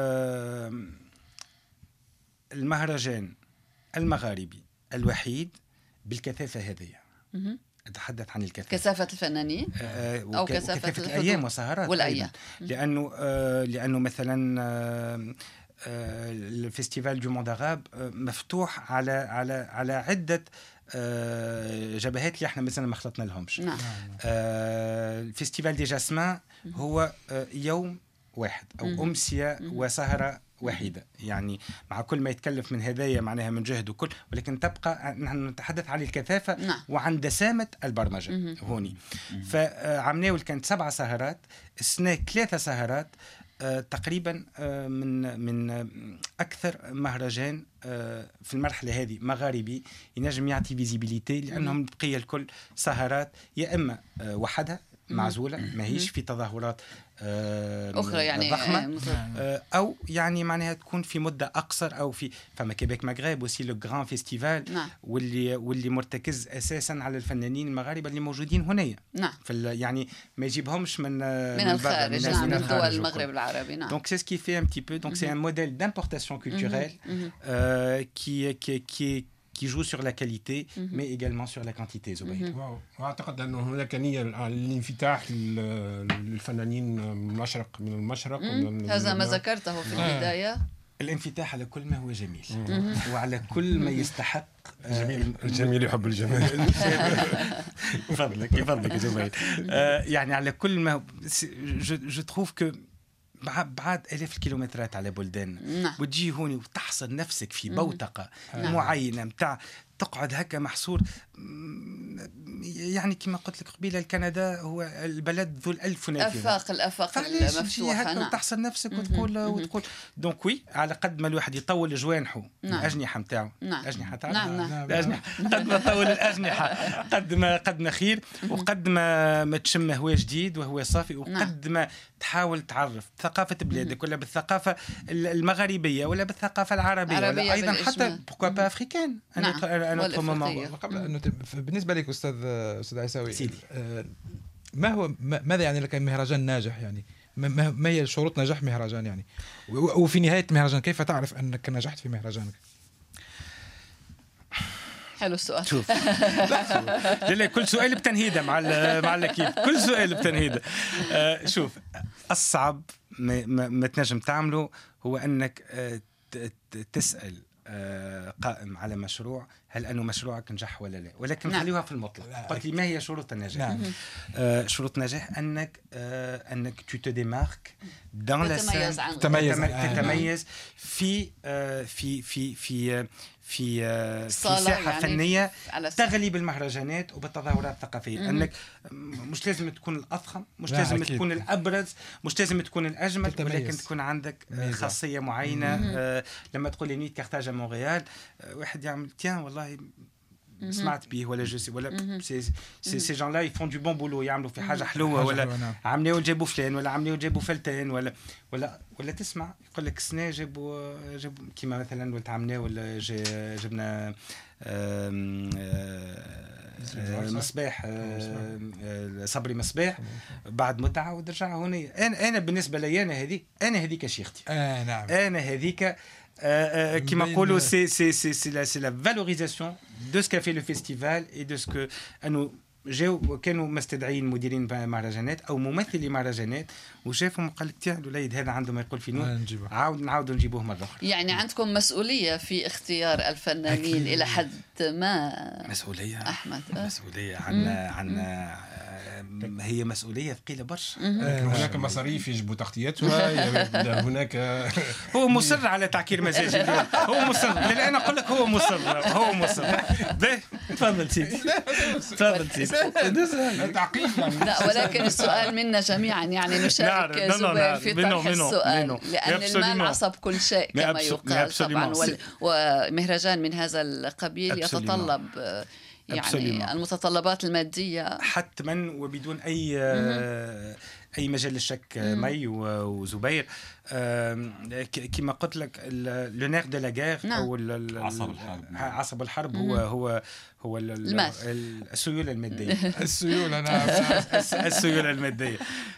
المهرجان المغاربي الوحيد بالكثافة هذه. أتحدث عن الكثافة، كثافة الفنانين آه أو كثافة, كثافة الأيام والسهرات والأيام. لأنه آه لأنه مثلا آه آه الفستيفال دو موند عرب آه مفتوح على على على عدة آه جبهات اللي احنا مثلا ما خلطنا لهمش. نعم. آه الفستيفال دي جاسمان هو آه يوم واحد أو أمسية وسهرة وحيدة، يعني مع كل ما يتكلف من هدايا معناها من جهد وكل، ولكن تبقى نحن نتحدث عن الكثافة نعم. وعن دسامة البرمجة مم. هوني. فعمناول كانت سبع سهرات، السنة ثلاثة سهرات آه تقريبا آه من من أكثر مهرجان آه في المرحلة هذه مغاربي ينجم يعطي فيزيبيليتي، لأنهم بقية الكل سهرات يا إما آه وحدها معزولة ماهيش في تظاهرات أخرى يعني ضخمة أو يعني معناها تكون في مدة أقصر، أو في فما كيبيك مغرب وسي لو غران فيستيفال نعم. واللي واللي مرتكز أساسا على الفنانين المغاربة اللي موجودين هنا. نعم. يعني ما يجيبهمش من من الخارج، نعم، من دول المغرب العربي. نعم. Donc c'est ce qui fait un petit peu, donc c'est un modèle d'importation culturelle euh, qui qui qui qui joue sur la qualité mm-hmm. mais également sur la quantité. زبير. واعتقد أن هناك نية للانفتاح للفنانين من المشرق من المشرق هذا ما ذكرته في البداية. الانفتاح على كل ما هو جميل وعلى كل ما يستحق. جميل الجميل يحب الجمال. يفضلك يفضلك زبير. يعني على كل ما je je trouve que بعد آلاف الكيلومترات على بلداننا. نعم. وتجي هوني وتحصر نفسك في بوتقة نعم. معينة متاع تقعد هكا محصور. يعني كما قلت لك قبيله كندا هو البلد ذو الألف نافذة. افاق الافاق المفتوحه. نعم. وتحصل نفسك وتقول وتقول دونك وي على قد ما الواحد يطول جوانحه نعم. الاجنحه نتاعو نعم. الاجنحه نعم. نعم. الاجنحه قد ما طول الاجنحه قد ما قد ما خير وقد ما ما تشم هواء جديد وهو صافي وقد ما تحاول تعرف ثقافه بلادك ولا بالثقافه المغاربيه ولا بالثقافه العربيه ولا ايضا حتى بوكوا با افريكان. قبل بالنسبه لك استاذ استاذ عيساوي ما هو ماذا يعني لك مهرجان ناجح؟ يعني ما هي شروط نجاح مهرجان يعني؟ وفي نهايه المهرجان كيف تعرف انك نجحت في مهرجانك؟ حلو السؤال. شوف لا لا كل سؤال بتنهيده مع مع الاكيد كل سؤال بتنهيده. آه شوف الصعب ما, ما, ما تنجم تعمله هو انك آه تسال آه قائم على مشروع هل أنه مشروعك نجح ولا لا، ولكن نعم. خليها في المطلق. قلت لي ما هي شروط النجاح؟ نعم. آه شروط النجاح أنك آه أنك tu te démarques dans la scène تتميز تتميز في آه في في في في آه في ساحة يعني فنية تغلي بالمهرجانات وبالتظاهرات الثقافية. م- أنك مش لازم تكون الأضخم، مش لازم أكيد. تكون الأبرز، مش لازم تكون الأجمل، ولكن تكون عندك آه خاصية معينة. آه لما تقول لي نيت كارتاج مونريال آه واحد يعمل تيان والله سمعت به ولا جوسي ولا سي سي سي جان لا يفون دو بون بولو يعملوا في حاجه حلوه ولا عملوا جابوا فلان ولا عملوا جابوا فلتان ولا ولا ولا تسمع يقول لك سنه جابوا جابوا كيما مثلا ولد عمنا ولا جبنا مصباح صبري مصباح بعد متعه ورجع هنا. انا انا بالنسبه لي انا هذه انا هذيك شيختي. اه نعم انا هذيك كما نقولوا سي سي سي سي لا سي لا فالوريزاسيون دو سكا في لو فيستيفال اي دو سكو انه جاو كانوا مستدعين مديرين مهرجانات او ممثلي مهرجانات وشافهم وقال لك تاع الوليد هذا عنده ما يقول في نور عاود نعاودوا نجيبوه مره اخرى. يعني عندكم مسؤوليه في اختيار الفنانين الى حد ما. مسؤوليه احمد مسؤوليه عنا عنا هي مسؤوليه ثقيله برشا. هناك مصاريف يجب تغطيتها. هناك هو مصر على تعكير مزاجي اليوم. هو مصر لا انا اقول لك هو مصر هو مصر باهي تفضل سيدي تفضل سيدي. لا ولكن السؤال منا جميعا يعني نشارك زبير في طرح السؤال لأن المال عصب كل شيء كما يقال طبعا. ومهرجان من هذا القبيل يتطلب يعني أبسوليما. المتطلبات المادية حتما وبدون أي م- أي مجال للشك. مي وزبير كما قلت لك لونير دو لا غير أو عصب الحرب عصب الحرب هو هو هو السيولة المادية. السيولة نعم السيولة المادية.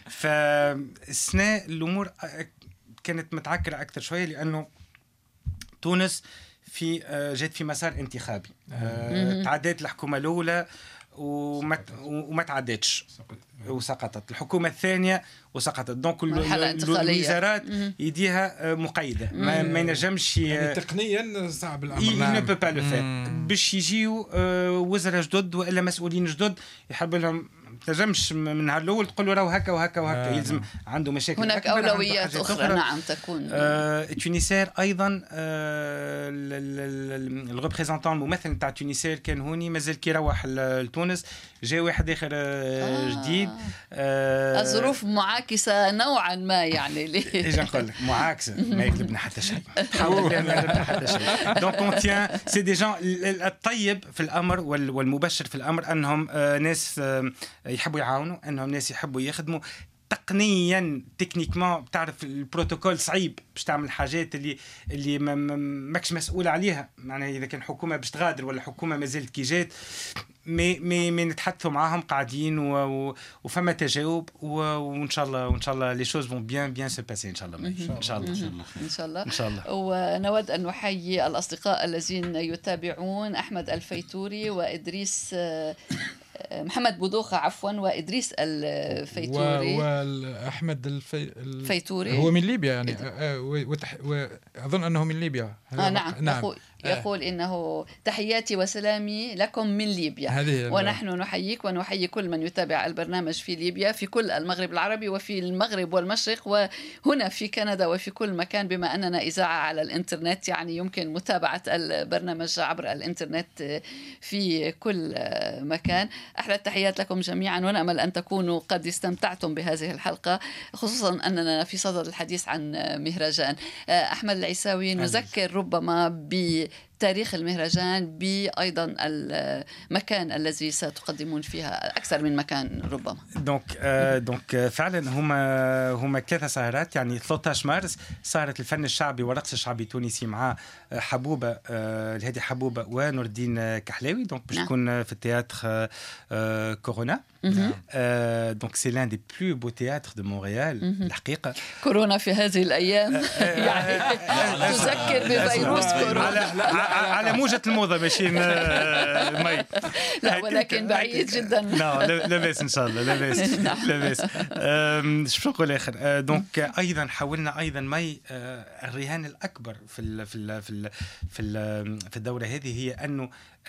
فالسنة الأمور كانت متعكرة أكثر شوية لأنه تونس في جات في مسار انتخابي. تعدت الحكومة الأولى وما وما تعدتش وسقطت الحكومة الثانية وسقطت. دونك الوزارات يديها مقيدة ما, ما ينجمش يعني تقنيا صعب الأمر. نعم باش يجيو وزراء جدد وإلا مسؤولين جدد يحب لهم تنجمش من نهار الاول تقول له راهو هكا وهكا وهكا. آه. يلزم عنده مشاكل هناك اولويات اخرى. أخرى نعم تكون آه تونسير ايضا. آه الريبريزونطون الممثل نتاع تونسير كان هوني مازال كي يروح لتونس جاء واحد اخر آه جديد. آه الظروف معاكسه نوعا ما يعني ليه ايش نقول لك معاكسه ما يقلبنا حتى شيء. حاول ما يقلبنا حتى شيء. دونك اون تيان سي دي جون الطيب في الامر والمبشر في الامر انهم آه ناس آه يحبوا يعاونوا، انهم ناس يحبوا يخدموا تقنيا تكنيكمون. بتعرف البروتوكول صعيب باش تعمل حاجات اللي اللي ما ماكش مسؤول عليها. معناها اذا كان حكومه باش تغادر ولا حكومه ما زالت كي جات مي مي مي نتحدثوا معاهم قاعدين وفما تجاوب وان شاء الله وان شاء الله لي شوز فون بيان بيان سو باسي ان شاء الله ان شاء الله ان شاء الله ان شاء الله. ونود ان نحيي الاصدقاء الذين يتابعون احمد الفيتوري وادريس محمد بودوخة عفوا وإدريس الفيتوري وأحمد الفي... الفيتوري هو من ليبيا يعني وتح... وأظن أنه من ليبيا. آه نعم. نعم يقول إنه تحياتي وسلامي لكم من ليبيا، ونحن نحييك ونحيي كل من يتابع البرنامج في ليبيا، في كل المغرب العربي وفي المغرب والمشرق وهنا في كندا وفي كل مكان، بما أننا إذاعة على الإنترنت يعني يمكن متابعة البرنامج عبر الإنترنت في كل مكان. أحلى التحيات لكم جميعا، ونأمل أن تكونوا قد استمتعتم بهذه الحلقة، خصوصا أننا في صدد الحديث عن مهرجان. أحمد العيساوي، نذكر ربما بتاريخ المهرجان، بأيضا المكان الذي ستقدمون فيها، أكثر من مكان ربما. دونك دونك فعلا هما هما ثلاثة سهرات، يعني ثلاثة عشر مارس سهرة الفن الشعبي والرقص الشعبي التونسي مع حبوبة الهادي حبوبة ونور الدين كحلاوي، دونك باش تكون في التياتر كورونا. دونك سي لان دي بلو بو تياتر دو مونريال الحقيقة. كورونا في هذه الأيام يعني تذكر بفيروس كورونا على موجة الموضة ماشي مي، لا ولكن بعيد جدا. لا لاباس ان شاء الله، لاباس لاباس. شو نقول اخر؟ دونك ايضا حاولنا ايضا مي الرهان الاكبر في ال في ال في ال في, ال في الدوره هذه هي انه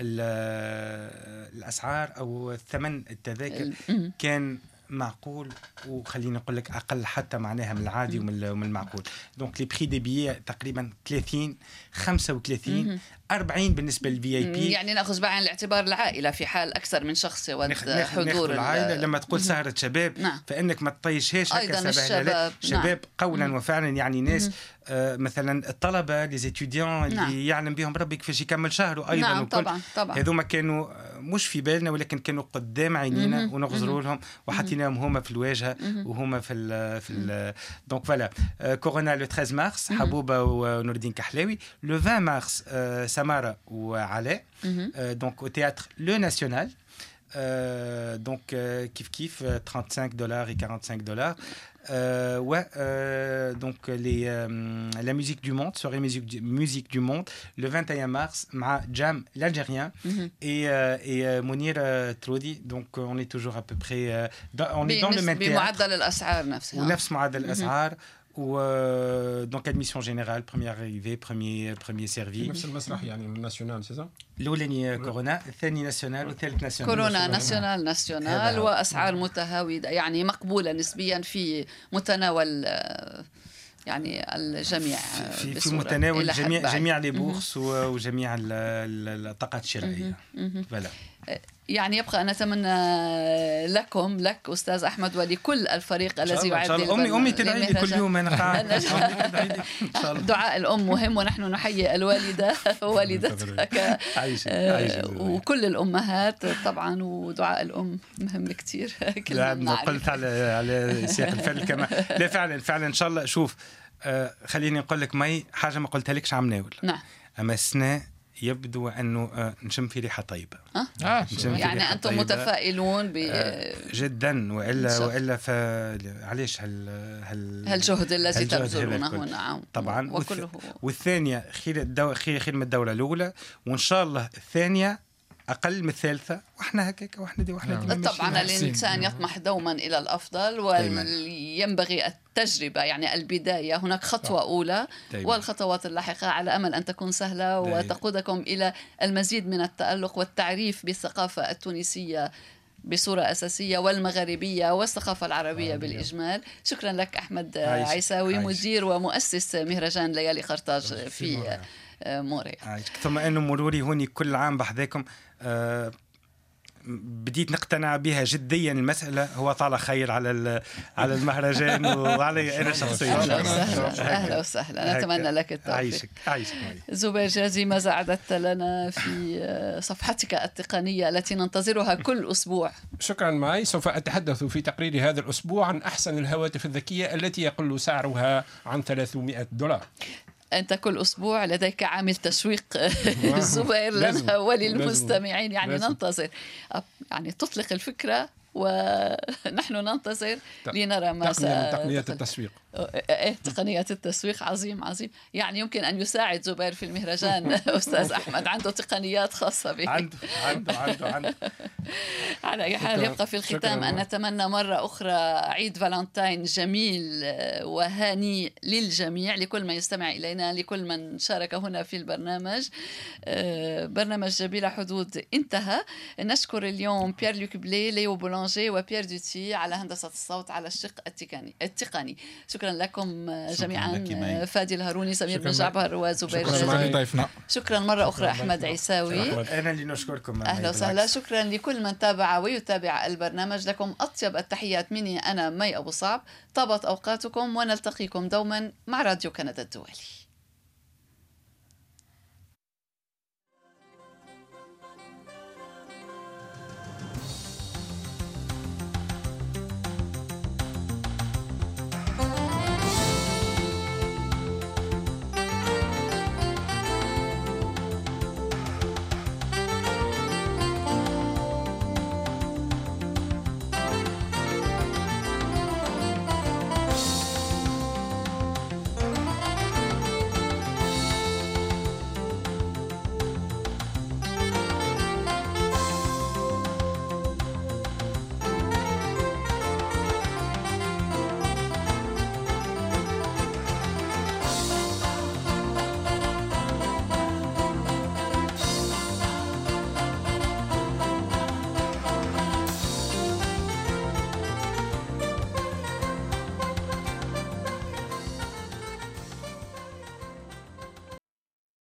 الاسعار او ثمن التذاكر كان معقول، وخليني نقول لك اقل حتى معناها من العادي ومن المعقول. دونك لي بري دي بيي تقريبا ثلاثين خمسة وثلاثين أربعين بالنسبه للفي اي بي، يعني ناخذ بعين الاعتبار العائله في حال اكثر من شخص حضور العائله. لما تقول سهره شباب نعم. فانك ما تطيشهاش هكا شباب شباب نعم. قولا وفعلا، يعني ناس آه مثلا الطلبه لي زيتيديون اللي نعم. يعلم بهم ربي كيفاش يكمل شهره ايضا، نعم. طبعا طبعا هذوما كانوا مش في بالنا ولكن كانوا قدام عينينا ونغزروا لهم وحطيناهم هما في الواجهه وهما في ال في ال دونك فوالا. كورونا لو ثلاثة مارس حبوبه ونور الدين كحلاوي، لو عشرين مارس آه سمارة وعلاء دونك au théâtre Le National. Euh, donc euh, kif kif trente-cinq dollars et quarante-cinq dollars. Euh, ouais, euh, donc les, euh, la musique du monde, soirée musique du, musique du monde, le vingt et un mars, ma Jam l'Algérien mm-hmm. et, euh, et euh, Mounir euh, Troudi. Donc euh, on est toujours à peu près, euh, dans, on est dans le même théâtre. بمعدل الأسعار نفسها. ونفس معدل الأسعار. ou euh, donc admission générale, première arrivée, premier premier servi. نفس المسرح يعني الناسيونال سي صح؟ الأولاني كورونا، الثاني ناسيونال والثالث ناسيونال. كورونا ناسيونال ناسيونال وأسعار متهاودة يعني مقبولة نسبيا في متناول يعني الجميع، في, في متناول جميع جميع لي بورس وجميع الطاقات الشرائية. فوالا. يعني يبقى أن نتمنى لكم لك أستاذ أحمد ولكل الفريق الذي يعد أمي أمي تدعي لي كل يوم أنا قاعد. دعاء الأم مهم، ونحن نحيي الوالدة ووالدتك وكل الأمهات طبعا، ودعاء الأم مهم كتير. لا قلت على على سياق الفعل كما لا فعلا فعلا إن شاء الله. شوف آه خليني أقول لك مي حاجة ما قلتها لكش عم ناول. نعم. أما السنة يبدو أنه آه نشم في ريحة طيبة. أه؟ آه يعني أنتم طيبة. متفائلون ب آه جدا، وإلا وإلا فعليش هال هال هالجهد الذي تبذلونه. نعم طبعا. وكله والثانية خير الدو... خير خير من الدورة الأولى، وإن شاء الله الثانية أقل من الثالثة، وإحنا هكاك وإحنا دي وإحنا دي. طبعا الإنسان يطمح دوما إلى الأفضل، وينبغي التجربة يعني البداية، هناك خطوة أولى دايما. والخطوات اللاحقة على أمل أن تكون سهلة دايما. وتقودكم إلى المزيد من التألق والتعريف بالثقافة التونسية بصورة أساسية والمغاربية والثقافة العربية آه بالإجمال. شكرا لك أحمد عايش. عيساوي عايش. مدير ومؤسس مهرجان ليالي قرطاج في موريال. ثم أنه مروري هوني كل عام بحذاكم آه بديت نقتنع بها جديا. المسألة هو طال خير على على المهرجان وعلي أنا شخصيا. أهلا وسهلا، نتمنى لك التوفيق. عايشك عايشك. زبير جازي، ماذا أعددت لنا في صفحتك التقنية التي ننتظرها كل أسبوع؟ شكرا معي. سوف أتحدث في تقرير هذا الأسبوع عن أحسن الهواتف الذكية التي يقل سعرها عن ثلاثمائة دولار. أنت كل أسبوع لديك عامل تشويق زبير لنا وللمستمعين، يعني لازم. ننتظر يعني تطلق الفكرة ونحن ننتظر لنرى ما تقنية التسويق ايه تقنيات التسويق عظيم عظيم، يعني يمكن ان يساعد زبير في المهرجان. استاذ احمد عنده تقنيات خاصه به. عنده عنده عنده عنده على اي حال يبقى في الختام ان نتمنى مره اخرى عيد فالنتاين جميل وهاني للجميع، لكل من يستمع الينا، لكل من شارك هنا في البرنامج. برنامج بلا حدود انتهى. نشكر اليوم بيير لوك بلي، ليو بولانجي وبيير دوتي على هندسه الصوت على الشق التقني التقني. شكرا لكم جميعا، فادي الهاروني، سمير بن جعبر وزبير جازي. شكرا مرة أخرى أحمد عيساوي. أنا اللي نشكركم. أهلا وسهلا. شكرا لكل من تابع ويتابع البرنامج. لكم أطيب التحيات مني أنا مي أبو صعب. طابت أوقاتكم ونلتقيكم دوما مع راديو كندا الدولي.